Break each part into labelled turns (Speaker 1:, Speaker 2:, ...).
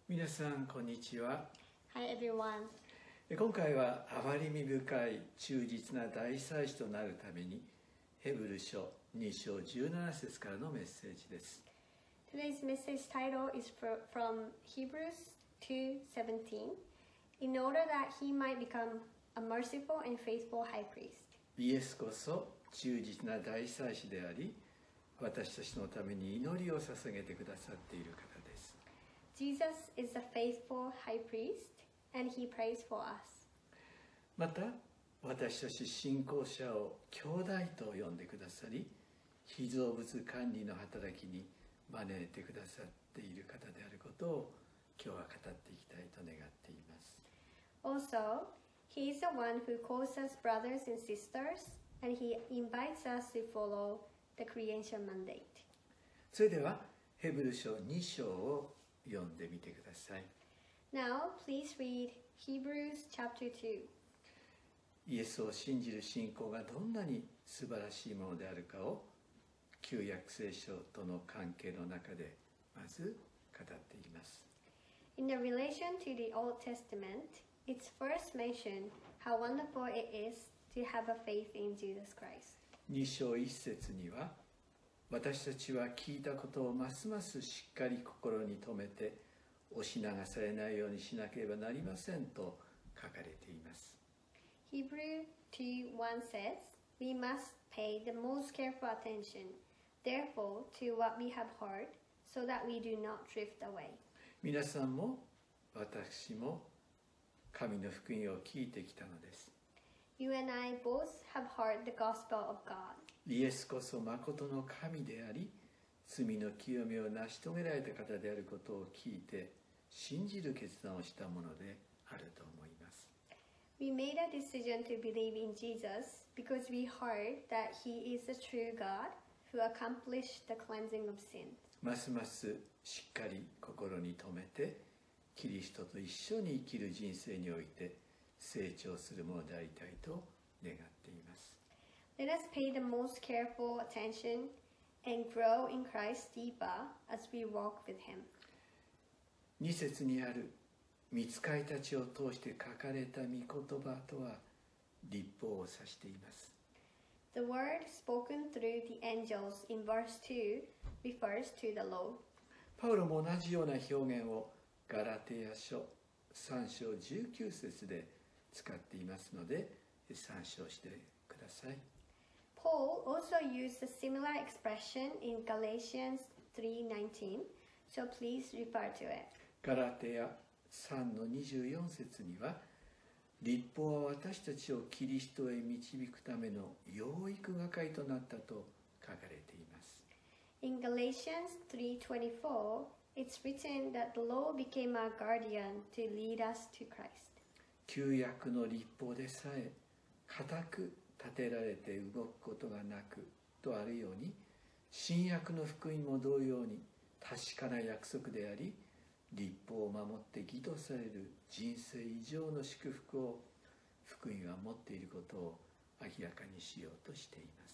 Speaker 1: 皆さんこんにちは。
Speaker 2: Hi everyone.
Speaker 1: 今回は憐れみ深い忠実な大祭司となるためにヘブル書2章17節からのメッセージです。
Speaker 2: Today's message title is from Hebrews 2:17. In order that he might become a merciful and faithful high priest.
Speaker 1: イエスこそ忠実な大祭司であり、私たちのために祈りを捧げてくださっている方です。
Speaker 2: Jesus is a faithful high priest and he prays for us.
Speaker 1: また私たち信仰者を兄弟と呼んでくださり、被造物管理の働きに招いてくださっている方であることを今日は語っていきたいと願っています。
Speaker 2: Also, he is the one who calls us brothers and sisters and he invites us to follow the creation mandate.
Speaker 1: それではヘブル書2章を読んでみてください。
Speaker 2: Now, please read Hebrews chapter 2.
Speaker 1: イエスを信じる信仰がどんなに素晴らしいものであるかを旧約聖書との関係の中でまず語っています。
Speaker 2: In the relation to the Old Testament, it's first mentioned how wonderful it is to have a faith in Jesus Christ.
Speaker 1: 2章1節には、私たちは聞いたことをますますしっかり心に留めて押し流されないようにしなければなりませんと書かれています。
Speaker 2: Hebrews 2:1 says, We must pay the most careful attention, therefore, to what we have heard, so that we do not drift away.
Speaker 1: 皆さんも私も神の福音を聞いてきたのです。
Speaker 2: You and I both have heard the gospel of God.
Speaker 1: イエスこそ誠の神であり、罪の清めを成し遂げられた方であることを聞いて信じる決断をしたものであると思います。
Speaker 2: We made a decision to believe in Jesus because we heard that he is the true God who accomplished the cleansing of sin.
Speaker 1: ますますしっかり心に留めてキリストと一緒に生きる人生において成長するものでありたいと願っています。
Speaker 2: Let us pay the most careful attention and grow in Christ deeper as we walk with him.
Speaker 1: 2節にある御使いたちを通して書かれた御言葉とは律法を指しています。
Speaker 2: The word spoken through the angels in verse 2 refers to the law.
Speaker 1: パウロも同じような表現をガラテヤ書3章19節で使っていますので参照してください。
Speaker 2: Paul also used a similar expression in Galatians 3:19, so please refer to it.
Speaker 1: ガラテヤ3の24節には、律法は私たちをキリストへ導くための養育係となったと書かれています。
Speaker 2: In Galatians 3:24, it's written that the law became our guardian to lead us to Christ.
Speaker 1: 旧約の律法でさえ固く立てられて動くことがなくとあるように、新約の福音も同様に確かな約束であり、律法を守って義とされる人生以上の祝福を福音は持っていることを明らかにしようとしています。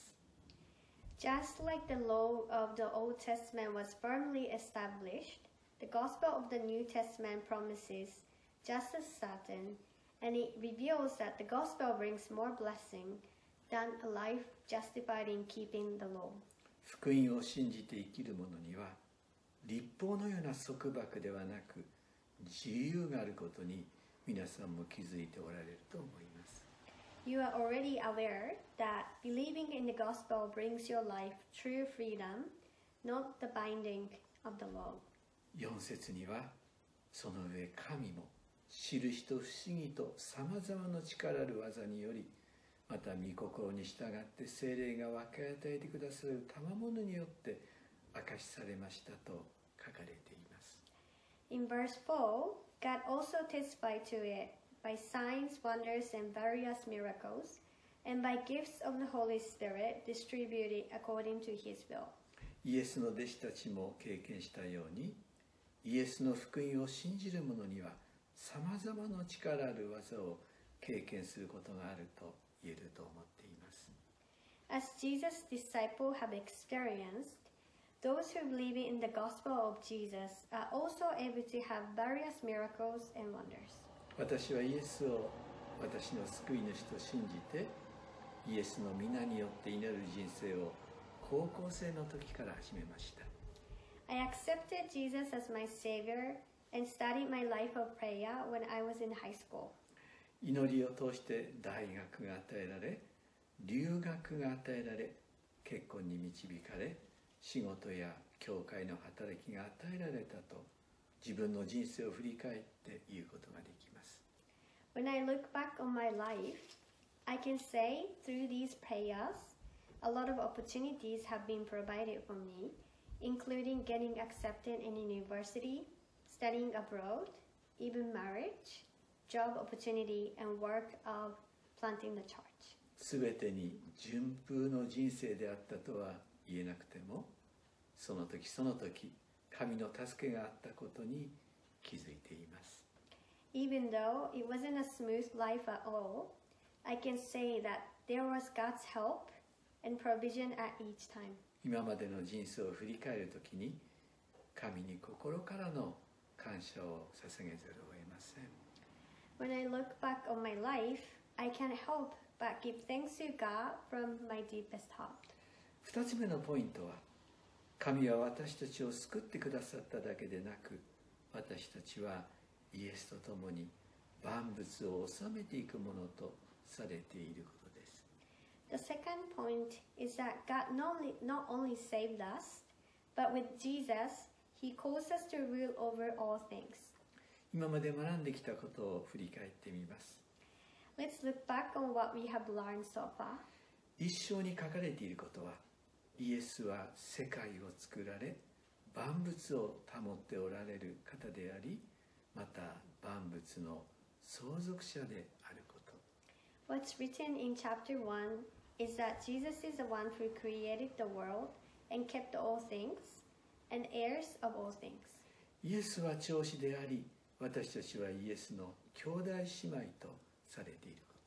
Speaker 2: Just like the law of the Old Testament was firmly established, the gospel of the New Testament promises just as certain, and it reveals that the gospel brings more blessing than a life justified in keeping the law.
Speaker 1: 福音を信じて生きる者には律法のような束縛ではなく自由があることに皆さんも気づいておられると思います。
Speaker 2: You are already aware that believing in the gospel brings your life true freedom, not the binding of the law.
Speaker 1: 4節にはその上神も印と不思議とさまざまな力ある技により、また御心に従って聖霊が分け与えてくださる賜物によって明かしされましたと書かれています。
Speaker 2: In verse 4, God also testified to it by signs, wonders, and various miracles, and by gifts of the Holy Spirit distributed according to His will.
Speaker 1: イエスの弟子たちも経験したように、イエスの福音を信じる者にはさまざまな力ある技を経験することがあると言えると思っています。
Speaker 2: As Jesus' disciples have experienced, those who believe in the gospel of Jesus are also able to have various miracles and wonders.
Speaker 1: 私はイエスを私の救い主と信じて、イエスの皆によって祈る人生を高校生の時から始めました。
Speaker 2: I accepted Jesus as my Savior and started my life of prayer when I was in high school.
Speaker 1: 祈りを通して大学が与えられ、留学が与えられ、結婚に導かれ、仕事や教会の働きが与えられたと、自分の人生を振り返って言うことができます。
Speaker 2: When I look back on my life, I can say through these prayers, a lot of opportunities have been provided for me, including getting accepted in university, studying abroad, even marriage, job opportunity, and work of planting the church.
Speaker 1: すべてに順風の人生であったとは言えなくても、その時その時、神の助けがあったことに気づいています。
Speaker 2: Even though it wasn't a smooth life at all, I can say that there was God's help and provision at each time.
Speaker 1: 今までの人生を振り返るときに、神に心からの感謝を捧げざるを得ません。
Speaker 2: When I look back on my life, I can't help but give thanks to God from my deepest heart.
Speaker 1: 二つ目のポイントは、神は私たちを救ってくださっただけでなく、私たちはイエスと共に万物を治めていくものとされていることです。
Speaker 2: The second point is that God not only saved us, but with Jesus, He calls us to rule over all things.
Speaker 1: 今まで学んできたことを振り返ってみます。
Speaker 2: Let's look back on what we have learned so far.
Speaker 1: 一章に書かれていることは、イエスは世界を作られ、万物を保っておられる方であり、また万物の相続者であること。
Speaker 2: What's written in chapter 1 is that Jesus is the one who created the world and kept all things, and heirs of all things.
Speaker 1: イエスは長子であり、私たちはイエスの兄弟姉妹とされていること。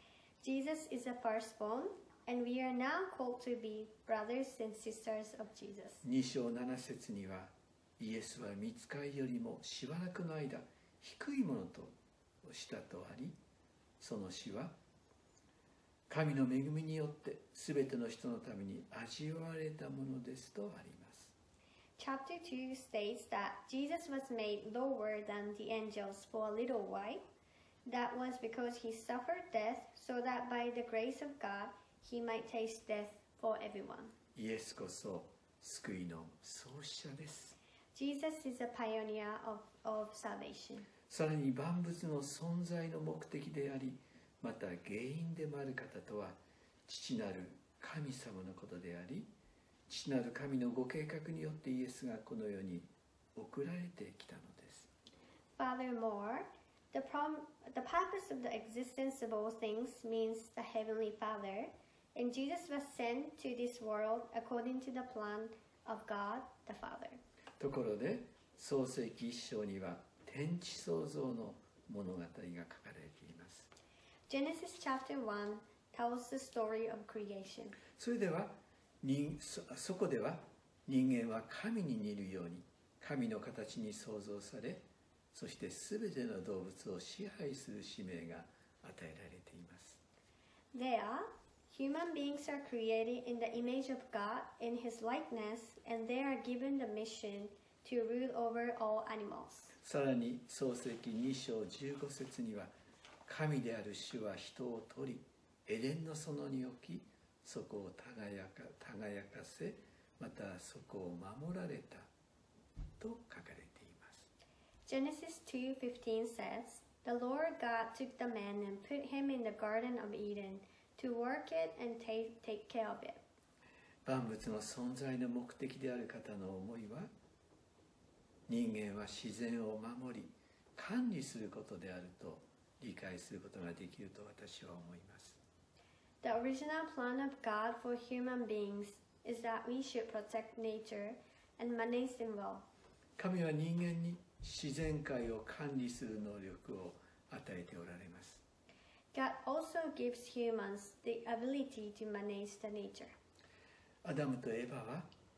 Speaker 2: Jesus is the firstborn, and we are now called to be brothers and sisters of Jesus.
Speaker 1: 2章7節には、イエスは御使いよりもしばらくの間、低いものとしたとあり、その死は、神の恵みによってすべての人のために味わわれたものですとあります。
Speaker 2: Chapter 2 states that Jesus was made lower than the angels for a little while. That was because he suffered death so that by the grace of God he might taste death for everyone.
Speaker 1: イエスこそ救いの創始者です。
Speaker 2: Jesus is a pioneer of salvation.
Speaker 1: さらに万物の存在の目的であり、また原因でもある方とは、父なる神様のことであり、父なる神のご計画によってイエスがこの世に送られてきたのです。
Speaker 2: Furthermore, the purpose of the existence of all things means the Heavenly Father, and Jesus was sent to this world according to the plan of God the Father.
Speaker 1: ところで、創世記一章には天地創造の物語が書かれています。
Speaker 2: Genesis chapter 1 tells the story of creation.
Speaker 1: それでは、そこでは人間は神に似るように神の形に創造され、そしてすべての動物を支配する使命が与えられています。
Speaker 2: There, human beings are created in the image of God in His likeness, and they are given the mission to rule over all animals.
Speaker 1: さらに創世記2章15節には、神である主は人を取り、エデンの園に置き、そこを輝かせ、またそこを守られたと書かれています。
Speaker 2: Genesis 2:15 says, "The Lord God took the man and put him in the Garden of Eden to work it and take care of it."
Speaker 1: 万物の存在の目的である方の思いは、人間は自然を守り、管理することであると理解することができると私は思います。
Speaker 2: The original plan of God for human beings is that we should protect nature and manage them well.
Speaker 1: 神は人間に自然界を管理する能力を与えておられます。
Speaker 2: God also gives humans the ability to manage the nature.
Speaker 1: アダムとエバは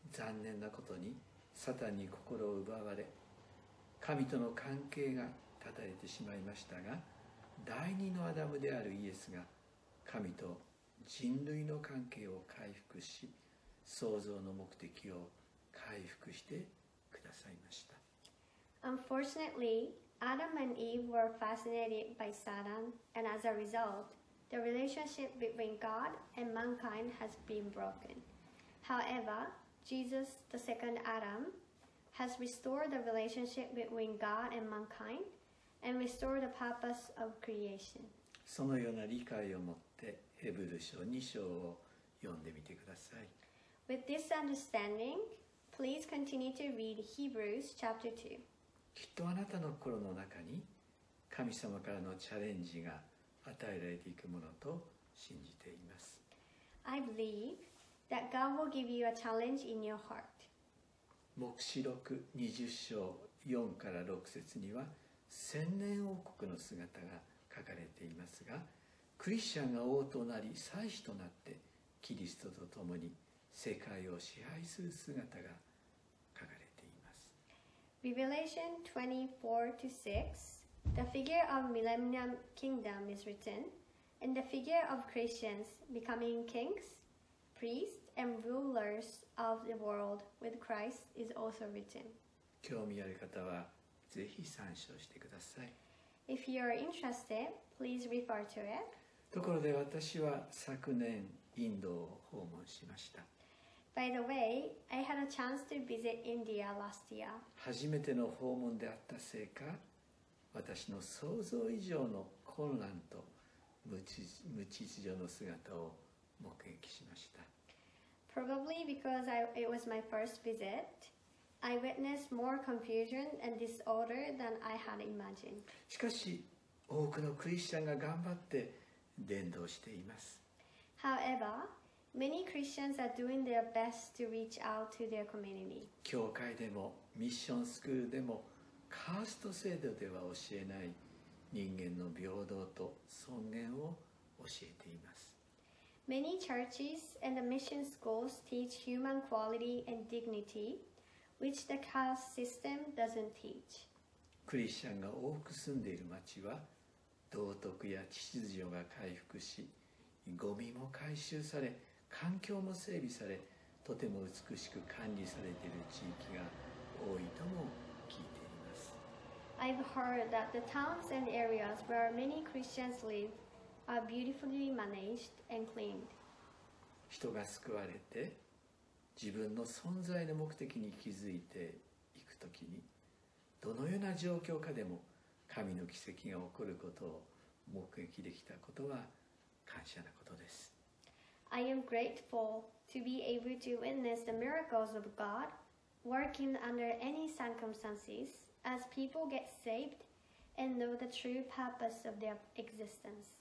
Speaker 1: 残念なことにサタンに心を奪われ、神との関係が断たれてしまいましたが、第二のアダムであるイエスが神と人類の関係を回復し、創造の目的を回復してくださいました。
Speaker 2: Unfortunately, Adam and Eve were fascinated by Satan, and as a result, the relationship between God and mankind has been broken. However, Jesus, the second Adam, has restored the relationship between God and mankind and restored the purpose of creation.
Speaker 1: そのような理解を持ってヘブル書2章を読んでみてください。
Speaker 2: With this understanding, please continue to read Hebrews chapter 2.
Speaker 1: きっとあなたの心の中に神様からのチャレンジが与えられていくものと信じています。
Speaker 2: I believe that God will give you a challenge in your heart.
Speaker 1: 黙示録20章4から6節には千年王国の姿が書かれていますが、クリスチャンが王となり祭司となってキリストと共に世界を支配する姿が書かれています。
Speaker 2: Revelation 24 to 6, the figure of millennium kingdom is written, and the figure of Christians becoming kings, priests, and rulers of the world with Christ is also written.
Speaker 1: 興味ある方はぜひ参照してください。
Speaker 2: If you are interested, please refer to it.
Speaker 1: ところで私は昨年インドを訪問しました。
Speaker 2: By the way, I had a chance to visit India last year.
Speaker 1: 初めての訪問であったせいか、私の想像以上の混乱と無秩序の姿を目撃しました。
Speaker 2: Probably because it was my first visit, I witnessed more confusion and disorder than I had imagined.
Speaker 1: しかし、多くのクリスチャンが頑張って伝道しています。
Speaker 2: However, many Christians are doing their best to reach out to their community.
Speaker 1: 教会でもミッションスクールでもカースト制度では教えない人間の平等と尊厳を教えています。
Speaker 2: Many churches and the mission schools teach human quality and dignity, which the caste system doesn't teach.
Speaker 1: クリスチャンが多く住んでいる町は道徳や秩序が回復し、ゴミも回収され、環境も整備され、とても美しく管理されている地域が多いとも聞いています。
Speaker 2: I've heard that the towns and areas where many Christians live are beautifully managed and cleaned.
Speaker 1: 人が救われて自分の存在の目的に気づいていくときに、どのような状況下でも神の奇跡が起こることを目撃できたことは感謝なことです。
Speaker 2: I am grateful to be able to witness the miracles of God working under any circumstances as people get saved and know the true purpose of their existence.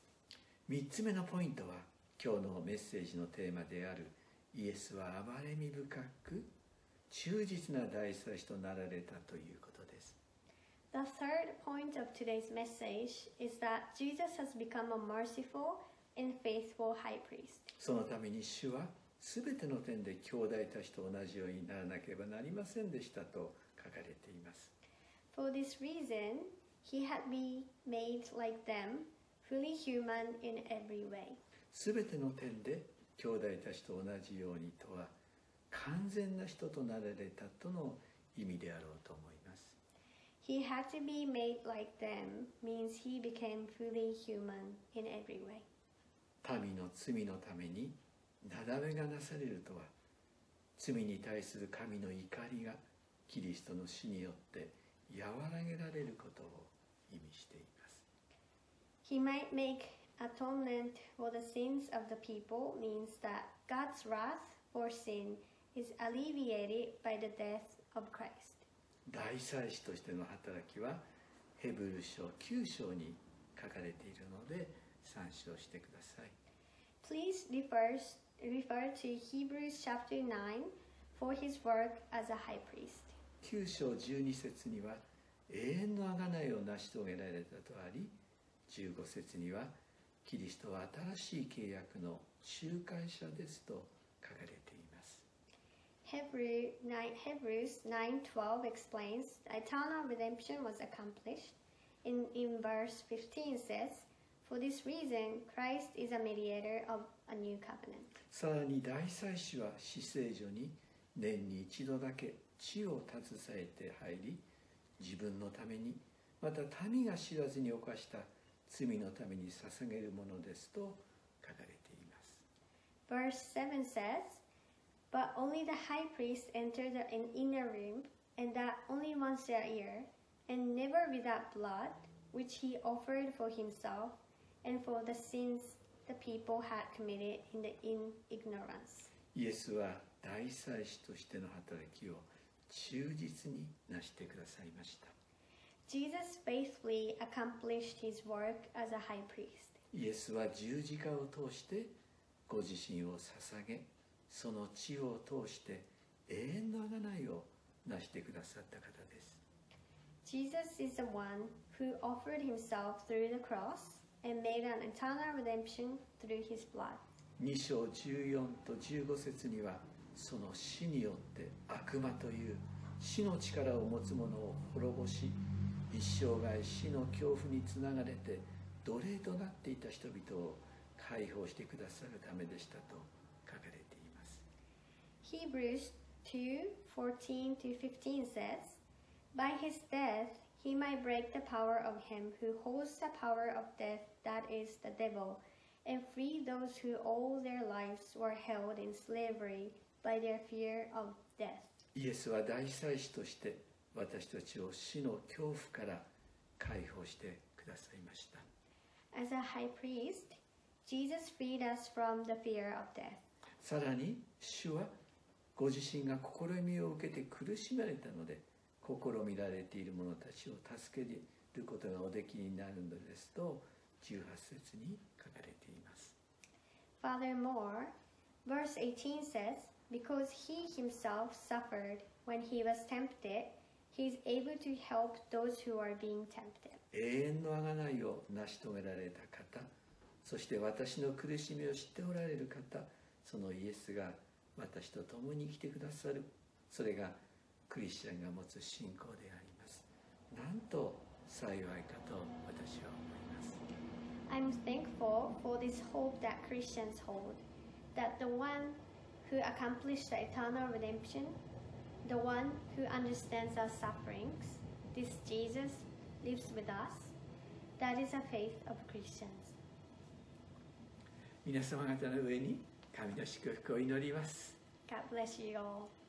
Speaker 1: 3つ目のポイントは、今日のメッセージのテーマであるイエスは憐れみ深く忠実な大祭司となられたということです。
Speaker 2: The third point of today's message is that Jesus has become a merciful and faithful high priest.
Speaker 1: そのために主はすべての点で兄弟たちと同じようにならなければなりませんでしたと書かれています。
Speaker 2: For this reason, he had been made like them, fully human in every way.
Speaker 1: すべての点で兄弟たちと同じようにとは、完全な人となられたとの意味であろうと思います。
Speaker 2: He had to be made like them means he became fully human in every way.
Speaker 1: 民の罪のためになだめがなされるとは、罪に対する神の怒りがキリストの死によって和らげられることを意味しています。
Speaker 2: He might make atonement for the sins of the people means that God's wrath for sin is alleviated by the death of Christ.
Speaker 1: 大祭司としての働きはヘブル書9章に書かれているので参照してください。
Speaker 2: Please refer to Hebrews chapter 9 for his work as a high priest.
Speaker 1: 9章12節には永遠の贖いを成し遂げられたとあり、15節にはキリストは新しい契約の仲介者ですと書かれています。
Speaker 2: Hebrews 9:12 explains eternal redemption was accomplished. In verse 15 says, For this reason, Christ is a mediator of a new covenant.
Speaker 1: さらに大祭司は至聖所に年に一度だけ血を携えて入り、自分のためにまた民が知らずに犯した罪のために捧げるものですと書かれています。
Speaker 2: Verse 7 says, But only the high priest entered the inner room, and that only once a year, and never without blood, which he offered for himself and for the sins the people had committed in ignorance.
Speaker 1: イエスは大祭司としての働きを忠実になしてくださいました。
Speaker 2: Jesus faithfully accomplished his work as a high priest.
Speaker 1: イエスは十字架を通してご自身を捧げ、その血を通して永遠の贖いをなしてくださった方です。
Speaker 2: Jesus is the one who offered himself through the cross and made an eternal redemption through his blood.
Speaker 1: 2章14と15節には、その死によって悪魔という死の力を持つ者を滅ぼし、一生涯死の恐怖につながれて奴隷となっていた人々を解放してくださるためでしたと書かれています。
Speaker 2: Hebrews 2:14 to 15 says, By his death he might break the power of him who holds the power of death, that is, the devil, and free those who all their lives were held in slavery by their fear of death.
Speaker 1: イエスは大祭司として私たちを死の恐怖から解放してくださいました。
Speaker 2: As a high priest, Jesus freed us from the fear of death.
Speaker 1: さらに主はご自身が試みを受けて苦しめられたので、試みられている者たちを助けることがおできになるのですと18節に書かれています。
Speaker 2: Furthermore, verse 18 says, Because he himself suffered when he was tempted, he is able to help those who are being tempted.
Speaker 1: 永遠の贖いを成し遂げられた方、そして私の苦しみを知っておられる方、そのイエスが私と共に生きてくださる、それがクリスチャンが持つ信仰であります。なんと幸いかと私は思います。
Speaker 2: I'm thankful for this hope that Christians hold, that the one who accomplished the eternal redemption, the one who understands our sufferings, this Jesus lives with us. That is the faith of Christians.
Speaker 1: 皆様方の上に神の祝福を祈ります。
Speaker 2: God bless you all.